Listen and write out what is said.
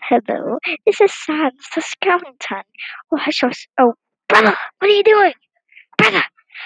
Hello, this is Sans the skeleton. Oh, hush, hush. Oh, brother, what are you doing? Brother!